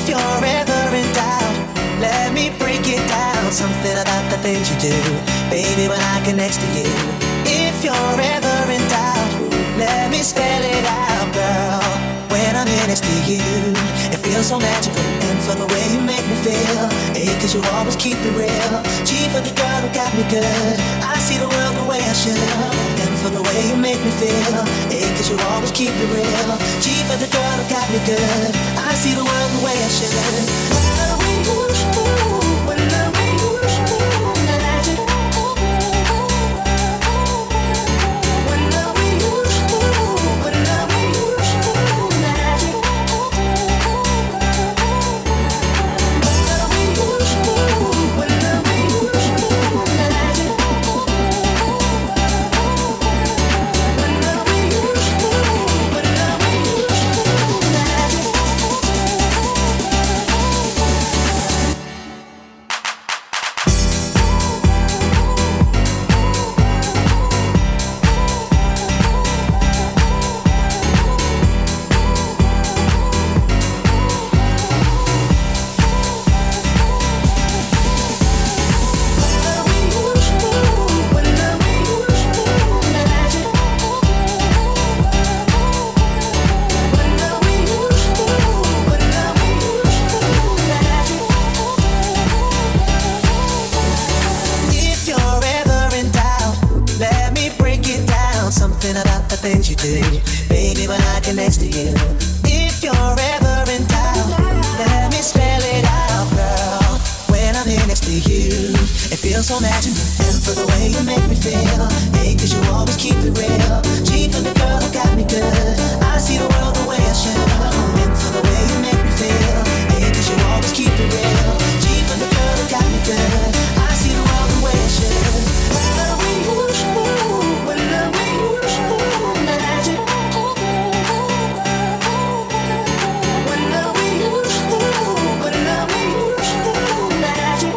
you're ever in doubt, let me break it down. Something about the things you do, baby, when I get next to you. If you're ever in doubt, let me spell it out, girl. When I'm here next to you, it feels so magical. And for the way you make me feel, A, cause you always keep it real. G for the girl who got me good, I see the world the way I should. And for the way you make me feel, A, cause you always keep it real. G for the girl who got me good, I see the world the way I should. When I'm with you, magic. Things you do, baby, when I get next to you. If you're ever in doubt, let me spell it out, girl. When I'm here next to you, it feels so magical. And for the way you make me feel, A, cause you always keep it real. G for the girl who got me good, I see the world the way I should. And for the way you make me feel, A, cause you always keep it real. G for the girl who got me good, I see the world the way I should. When I'm with you, magic. When I'm with you, magic.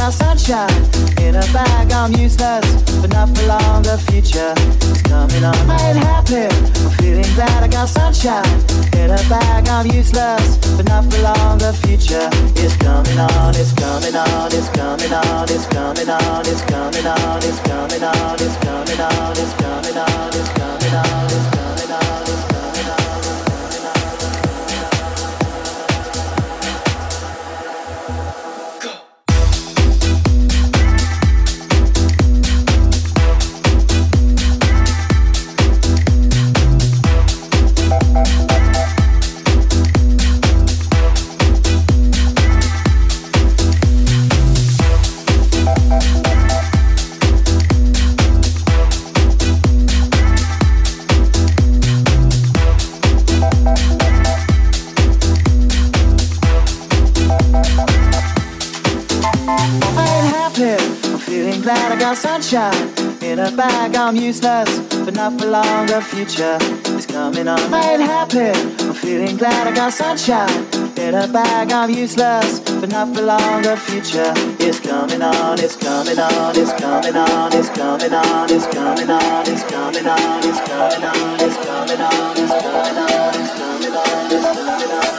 got sunshine in a bag. I'm useless, but not for long. The future is coming on. I ain't happy, I'm feeling glad. I got sunshine in a bag. I'm useless, but not for long. The future is coming on. It's coming on. It's coming on. It's coming on. It's coming on. It's coming on. It's coming on. It's coming on. It's coming on. It's coming on. It's coming on. Glad I got sunshine in a bag. I'm useless, but not for long. The future is coming on. I ain't happy, I'm feeling glad I got sunshine in a bag. I'm useless, but not for long. The future is coming on. It's coming on. It's coming on. It's coming on. It's coming on. It's coming on. It's coming on. It's coming on. It's coming on. It's coming on. It's coming on.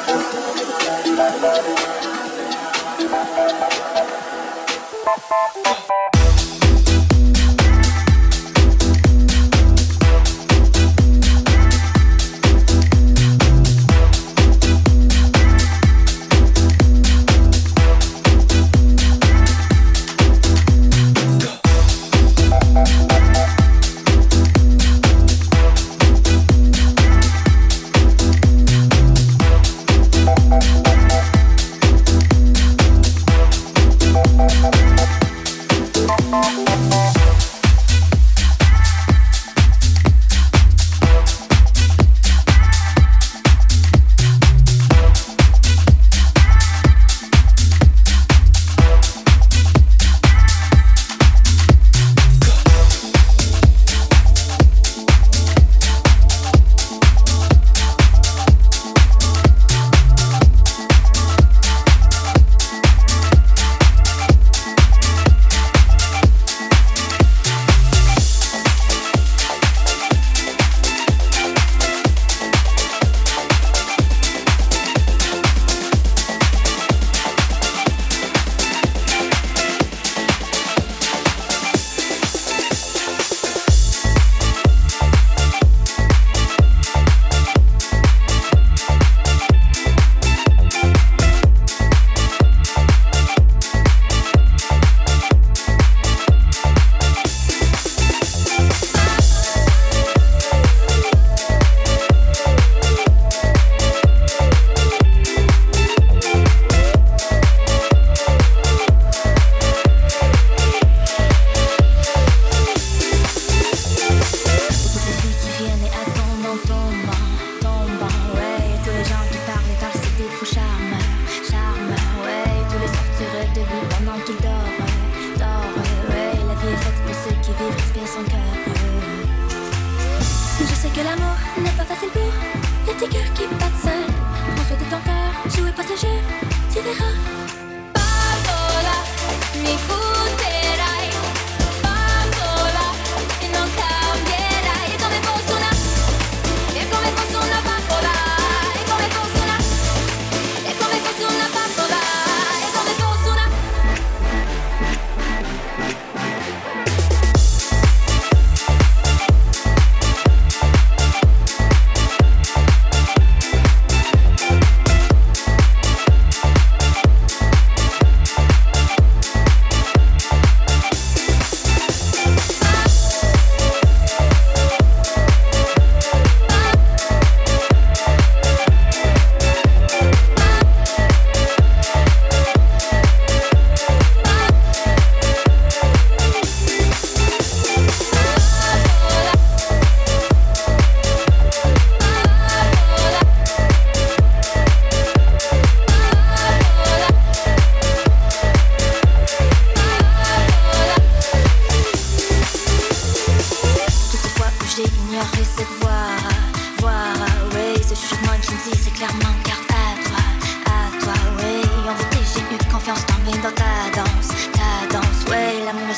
Confiance, t'emmène dans ta danse,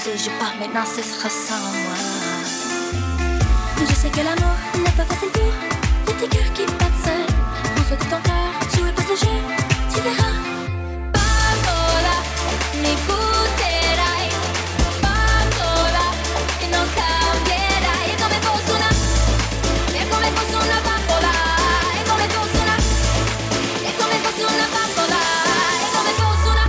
ce joue pas, maintenant ce sera sans moi. Je sais que l'amour n'est pas facile pour les petits cœurs qui battent seuls. Prends soin de ton cœur, jouez pas ce jeu, tu verras. Bambola, mi butterai. Bambola, e non cambierai. È come fosse una bambola. È come fosse una bambola. È come fosse una.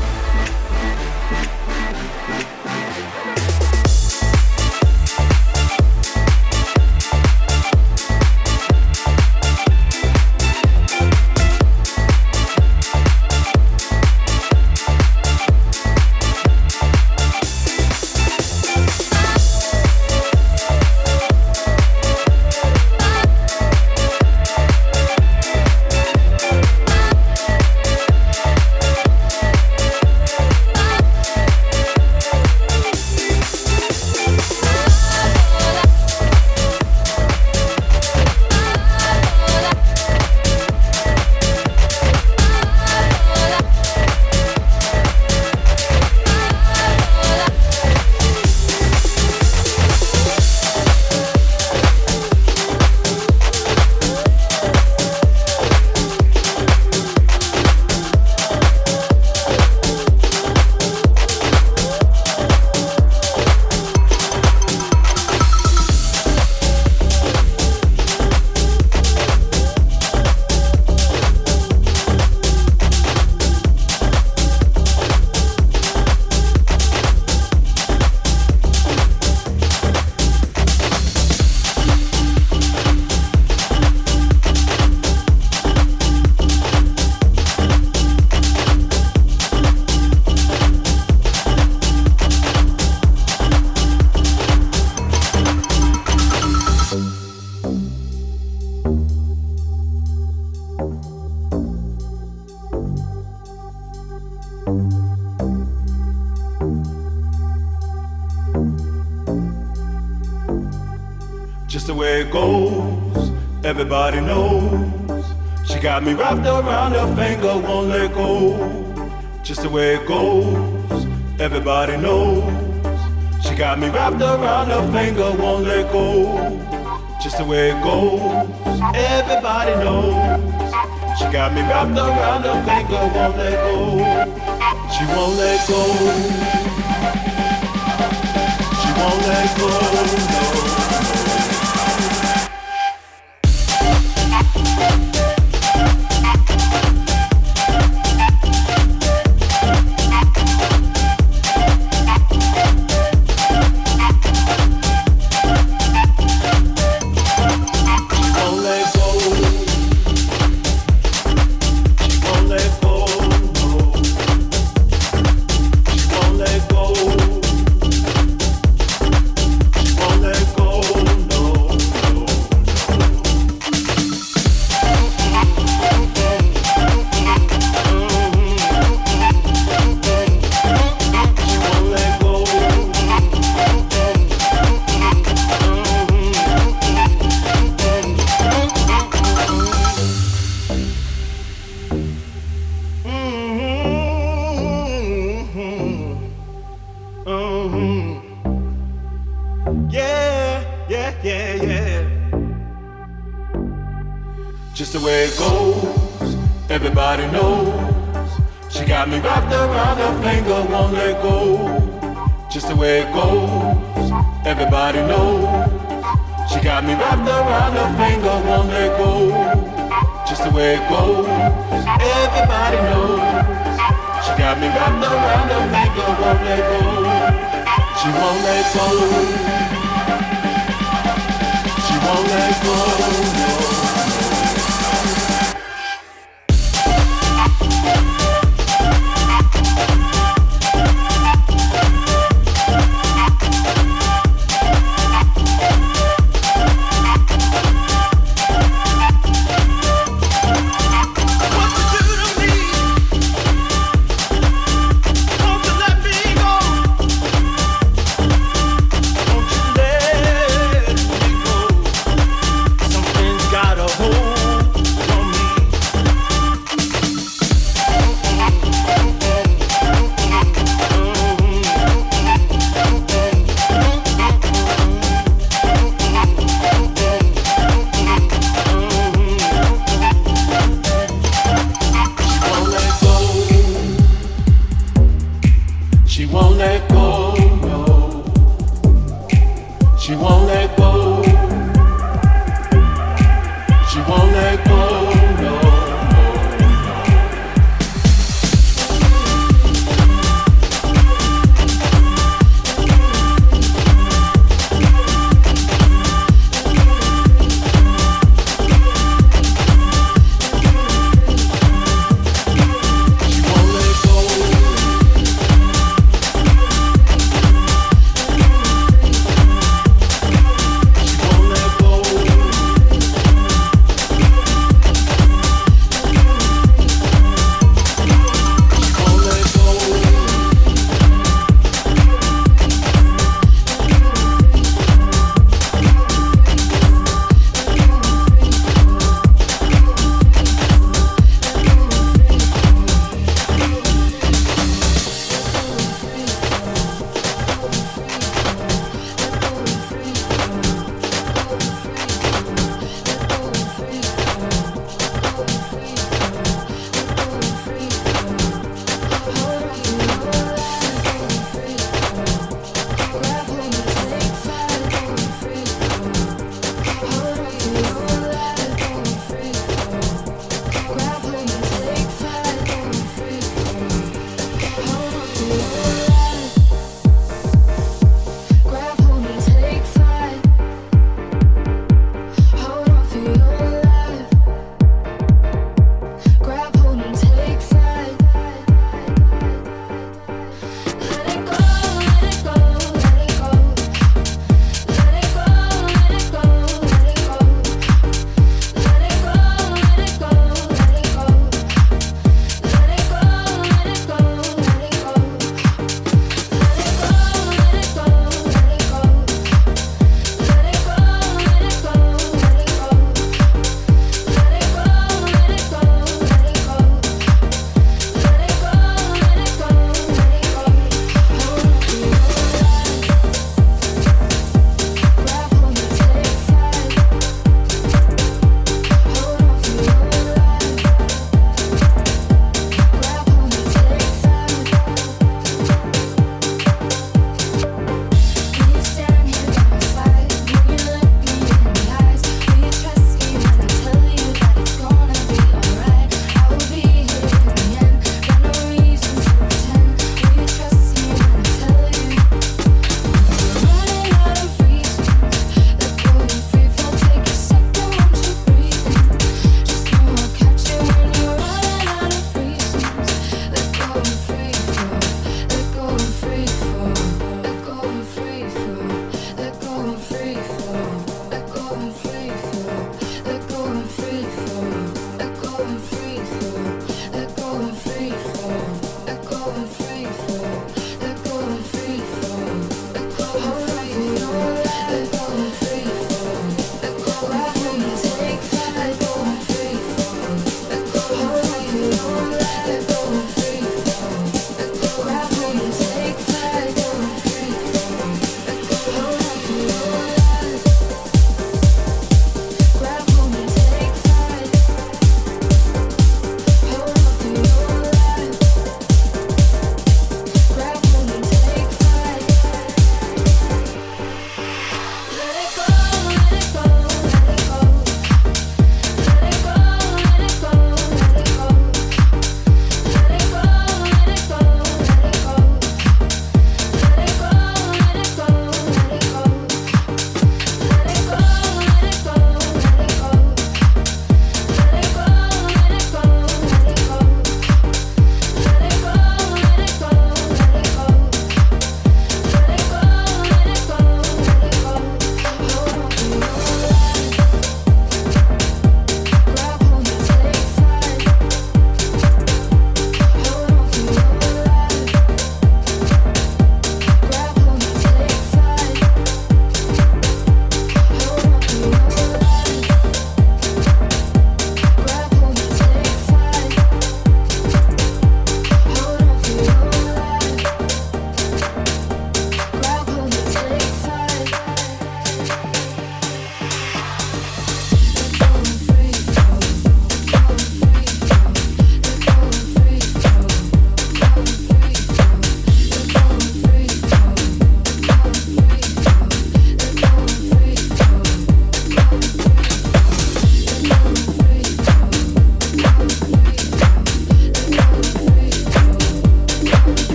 Just the way it goes, everybody knows. She got me wrapped around her finger, won't let go. Just the way it goes, everybody knows. She got me wrapped around her finger, won't let go. Just the way it goes, everybody knows. She got me wrapped around her finger, won't let go. She won't let go. She won't let go, no. Just the way it goes, everybody knows. She got me wrapped around her finger, won't let go. Just the way it goes, everybody knows. She got me wrapped around her finger, won't let go. Just the way it goes, everybody knows. She got me wrapped around her finger, won't let go. She won't let go. She won't let go, no. Got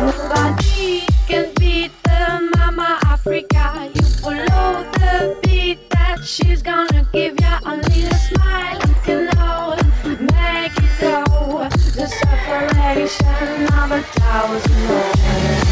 Nobody can beat the Mama Africa. You follow the beat that she's gonna give ya. Only a smile you can know, make it go. The separation of 1,000 more.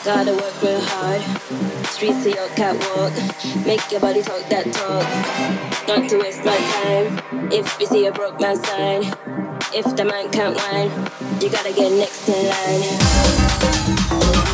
Gotta work real hard. Streets of your catwalk. Make your body talk that talk. Not to waste my time. If you see a broke man sign, if the man can't whine, you gotta get next in line.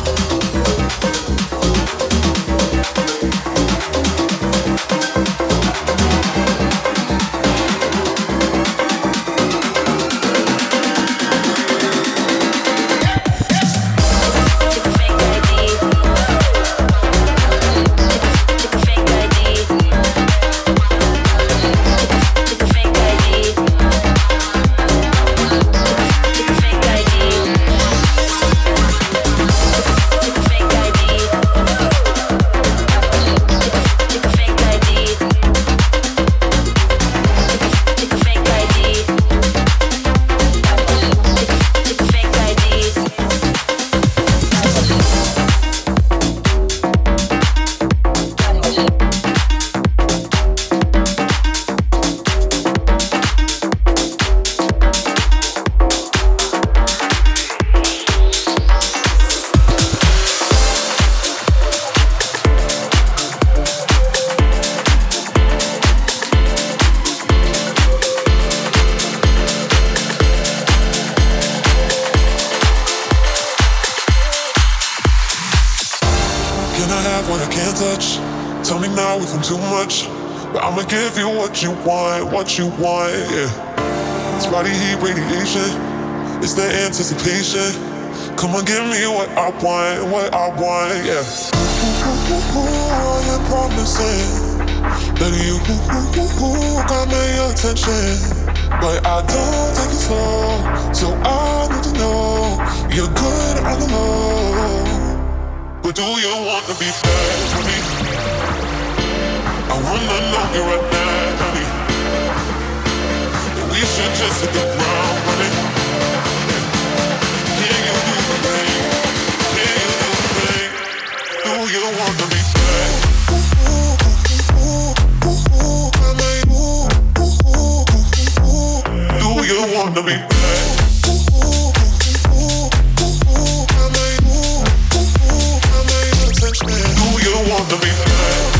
What you want, yeah. It's body heat radiation, it's the anticipation. Come on, give me what I want, yeah. You're promising that you got my attention, but I don't take it slow, so I need to know you're good on the low. But do you want to be bad for me? I wanna know you right now, honey. We should just hit the ground running. Can you do the thing? Can you do the thing? Do you want to be bad? Do you want to be bad? Do you want to be bad?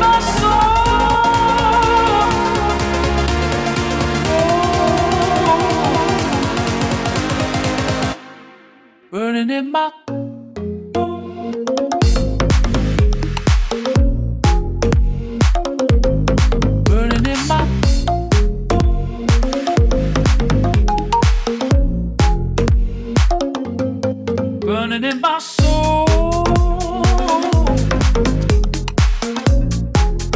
my soul. Burning in my burning in my burning in my soul.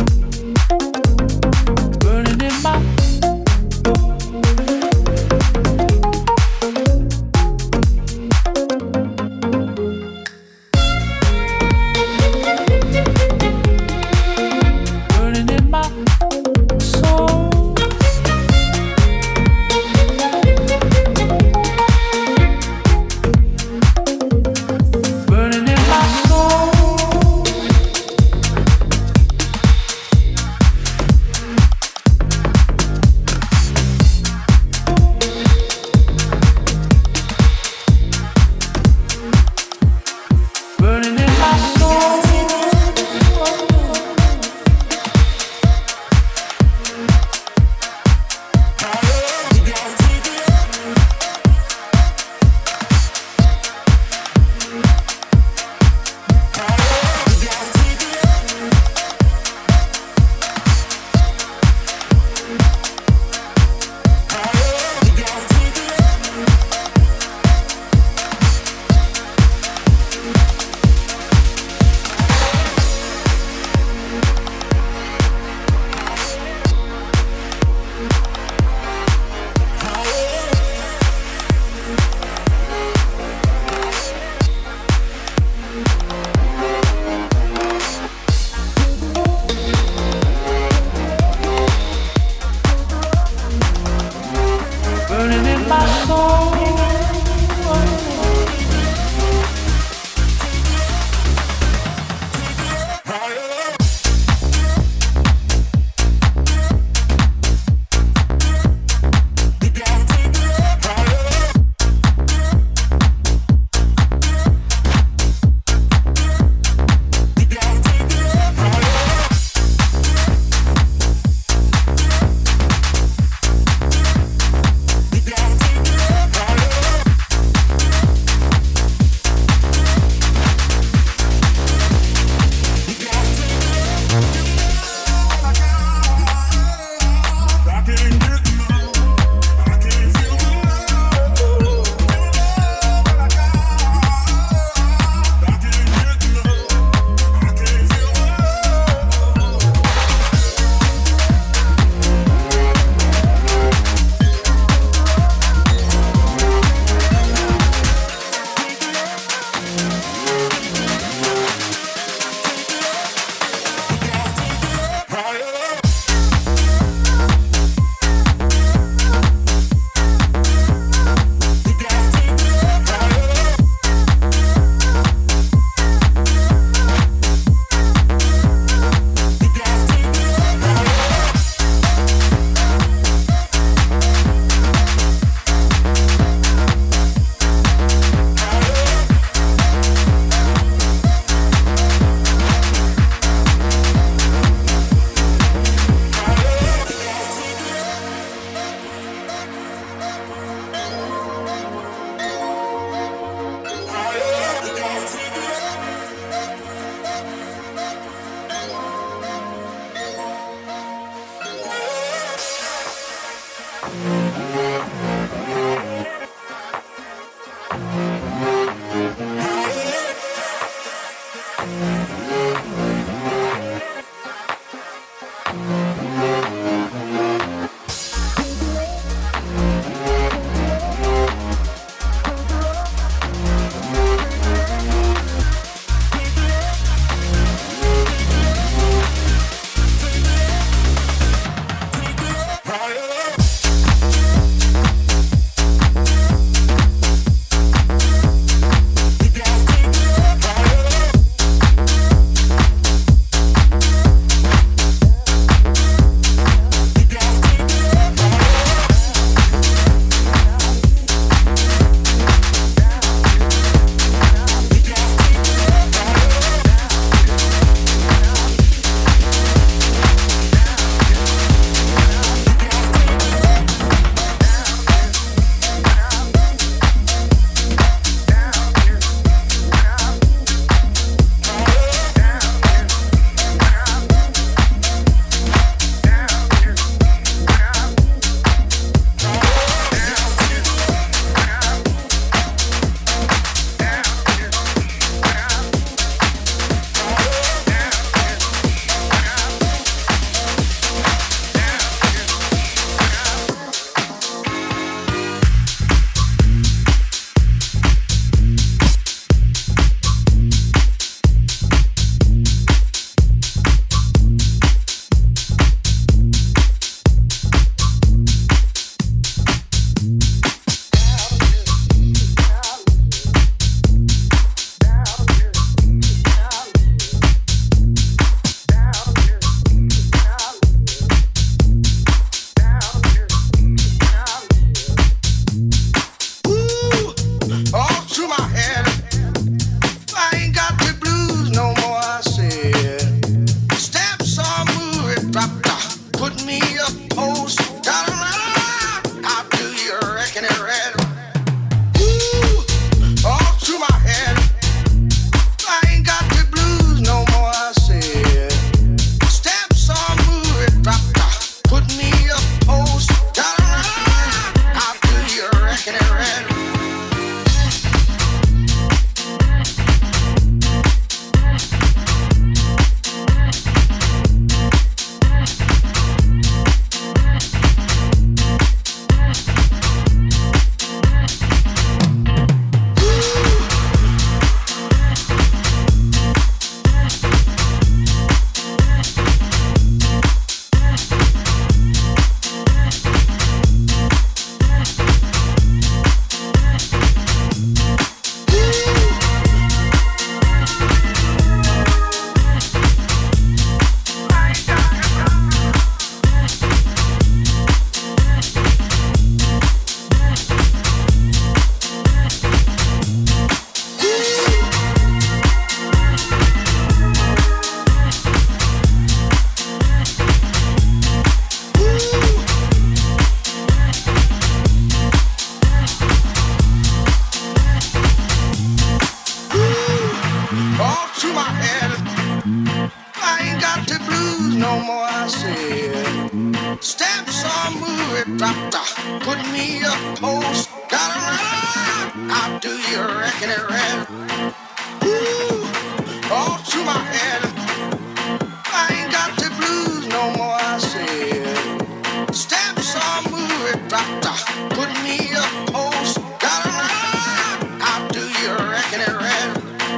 no more, I said. Steps on move it, drop, drop. Put me a post, gotta run. How do you reckon it ran? Ooh, all to my head. I ain't got the blues no more, I said. Steps on move it, drop, drop. Put me a post, gotta run. How do you reckon it ran?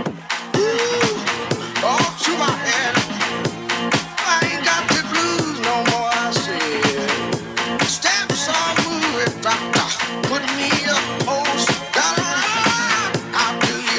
Ooh, all to my head. I ain't got the blues no more, I said. Steps on move it, drop, drop. Put me a post, gotta run. How do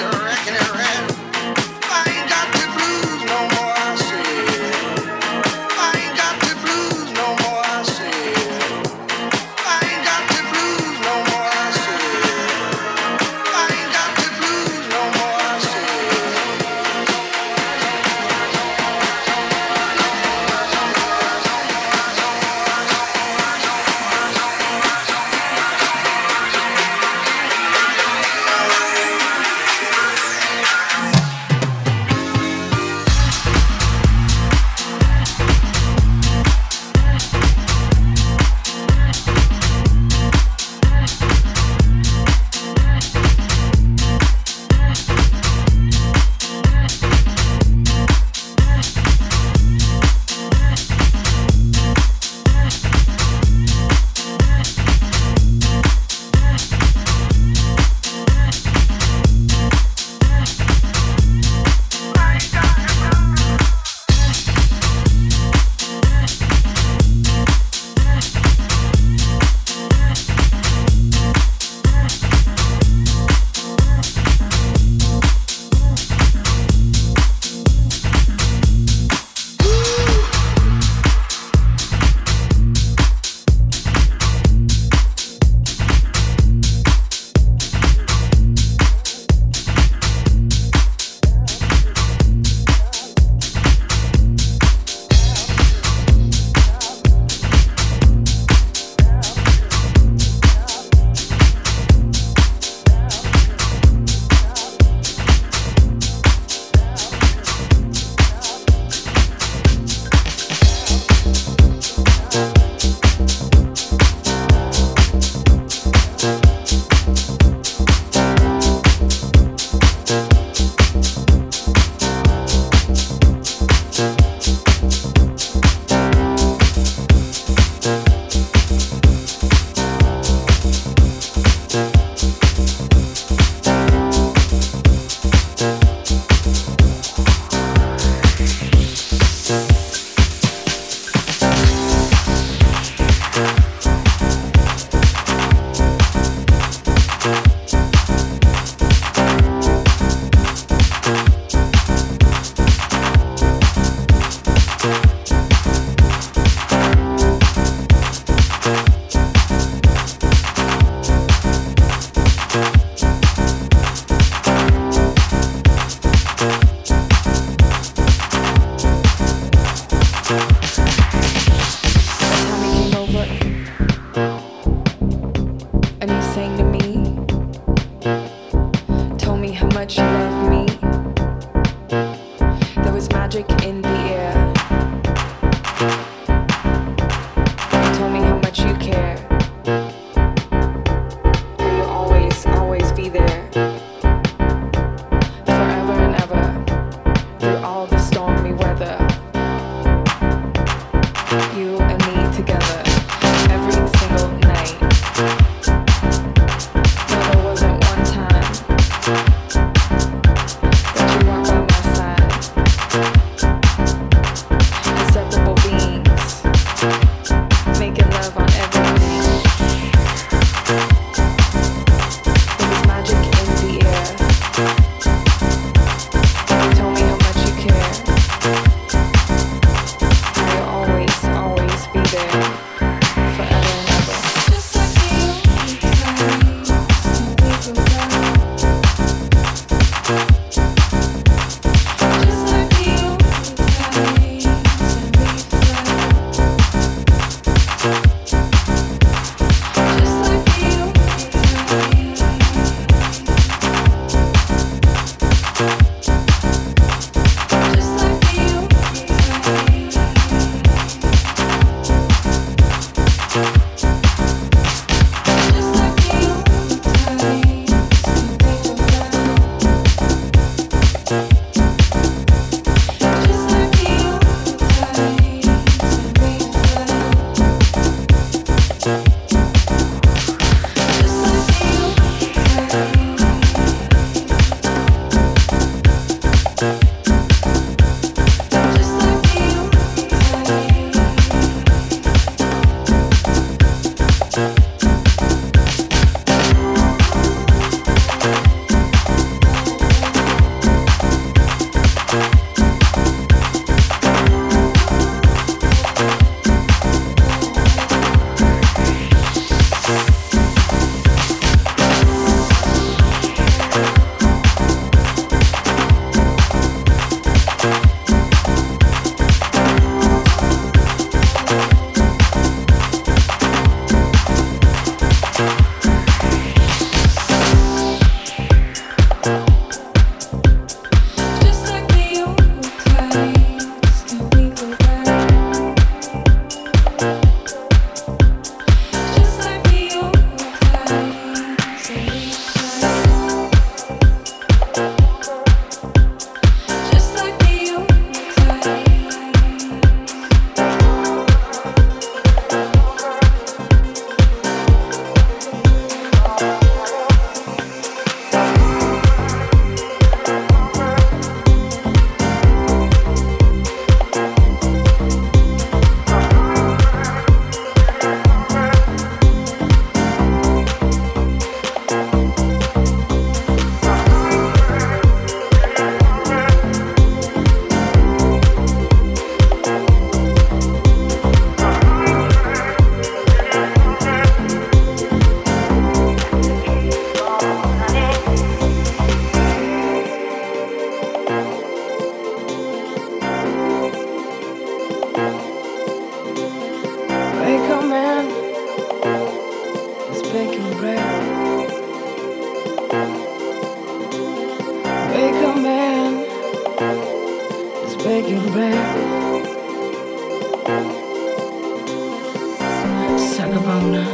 Sagabona,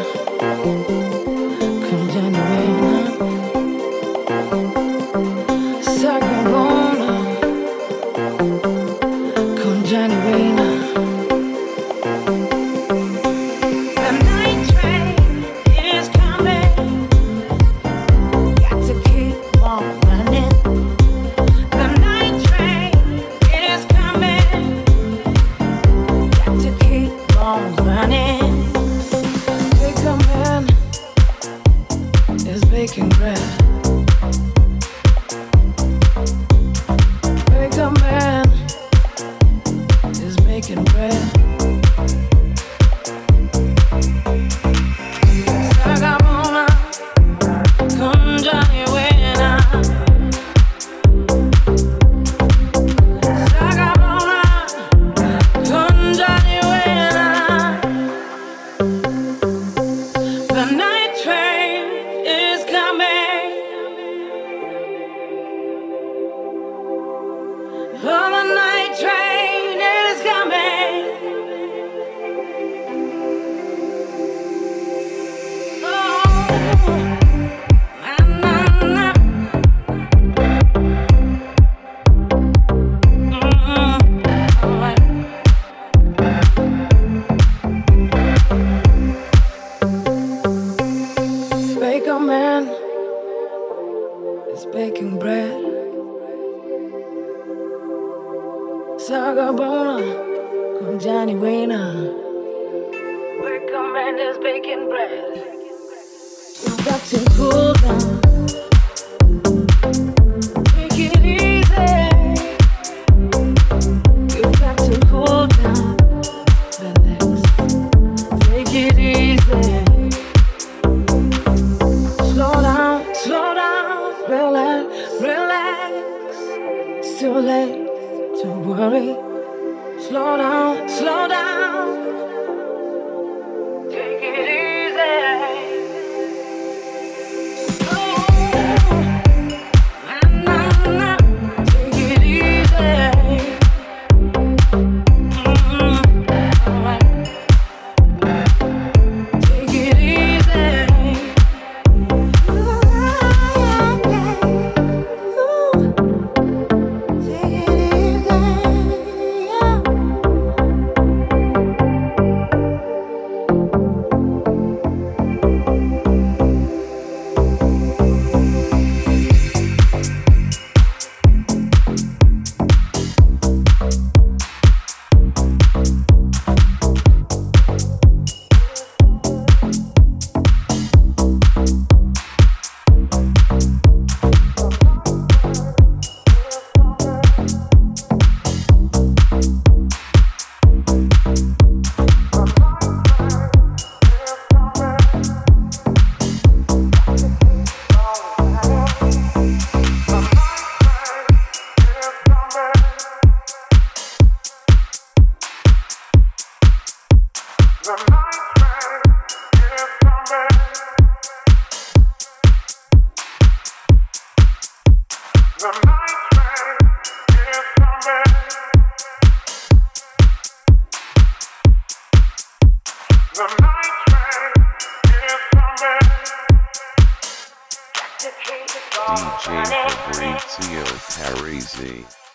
con Gianni Wayne. Sagabona, con Gianni Wayne. The night train is coming. Got to keep on running. The night train is coming. Got to keep on running. Baker man is baking bread. Baker man is baking bread. Sagabona, con Johnny Wayne. Sagabona, con Johnny Wayne. The night train is coming. Oh, the night train is coming. Oh, na, na, na. All right. Baker man is baking bread. Sagabona, con Johnny Wayne. Baker man is baking bread. You got to cool down. Take it easy. You got to cool down. Relax. Take it easy. Slow down, relax, relax. It's too late to worry. Slow down. Take it easy. Oh, na. Take it easy. All right. Take it easy. DJ Fabrizio Parisi.